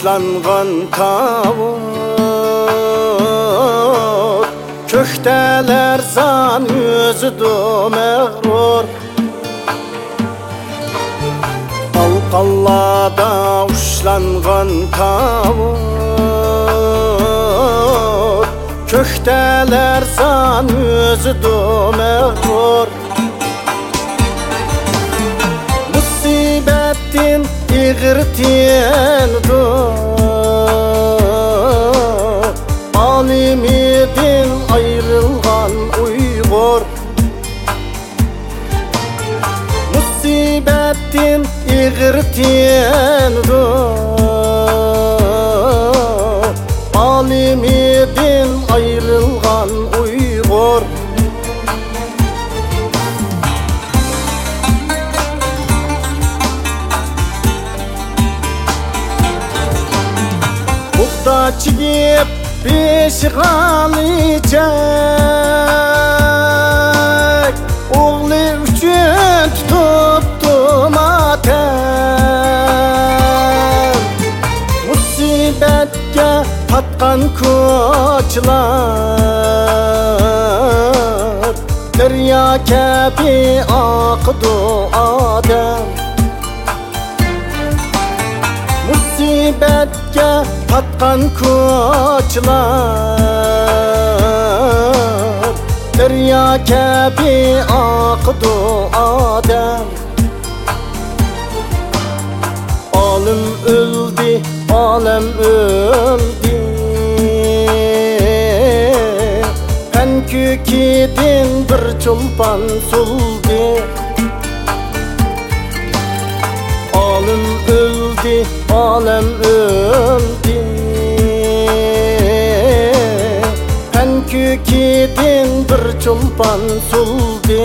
uçlangan tavuk, kökteler zan yüzüdü mağrur. Qalqallada uçlangan tavuk, kökteler zan yüzüdü mağrur. Musibettin İğirtiyendu alimidin ayrılgan Uygur. Musibettin İğirtiyendu alimidin ayrılgan Uygur. Buğda çigip pişgan içek, oğlu üçün tuttum atem. Musibetke patkan koçlar, derya kebi akıdı adem. Musibetke patkan koçlar, derya kebi akıdı adem. Alim öldü, alem öldü, Penkükidin bir çulpan suldu. Alim öldü, alem öldü, Penkükidin bir çulpan suldu.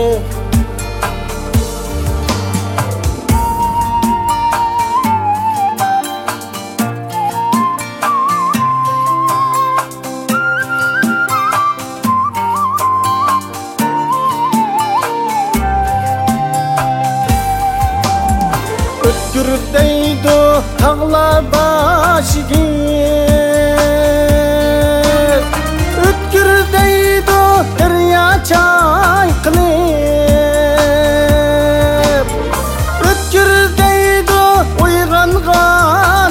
Ötkürdeydi tağlar başıgı, ötkürdeydi derya çayqılıp, ötkürdeydi uyğanğan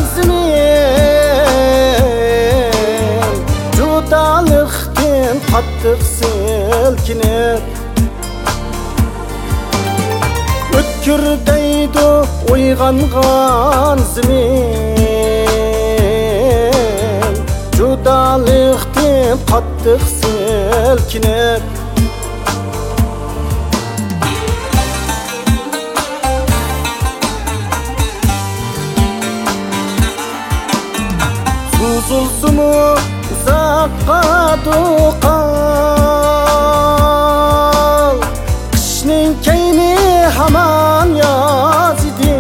zemin, judalıqdan qattiq silkinib. Ötkürdeydi uyğanğan zemin, judalıqdan qattiq silkinib. Suzulsumu uzoqqa do'qal, qishning kayni haman yoz idi.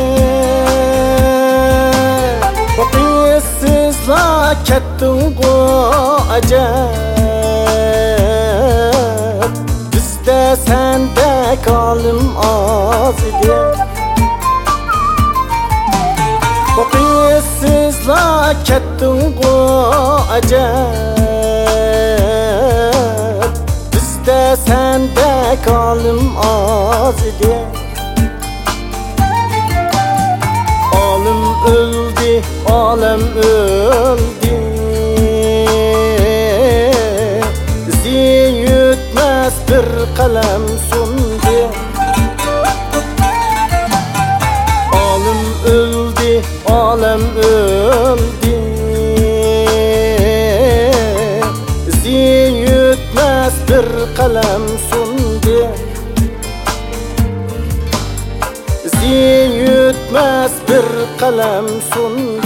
Boqiysizla ketdingu ajab, bizda sendek olim oz idi. Boqiysizla ketdingu ajab, bizda sendek olim oz idi. Alim öldü, alem öldü, bizi yutmaz bir kalem sundu. Alim öldü, alem öldü, bizi yutmaz bir kalem sundu. Bizi yutmaz bir kalem sundu.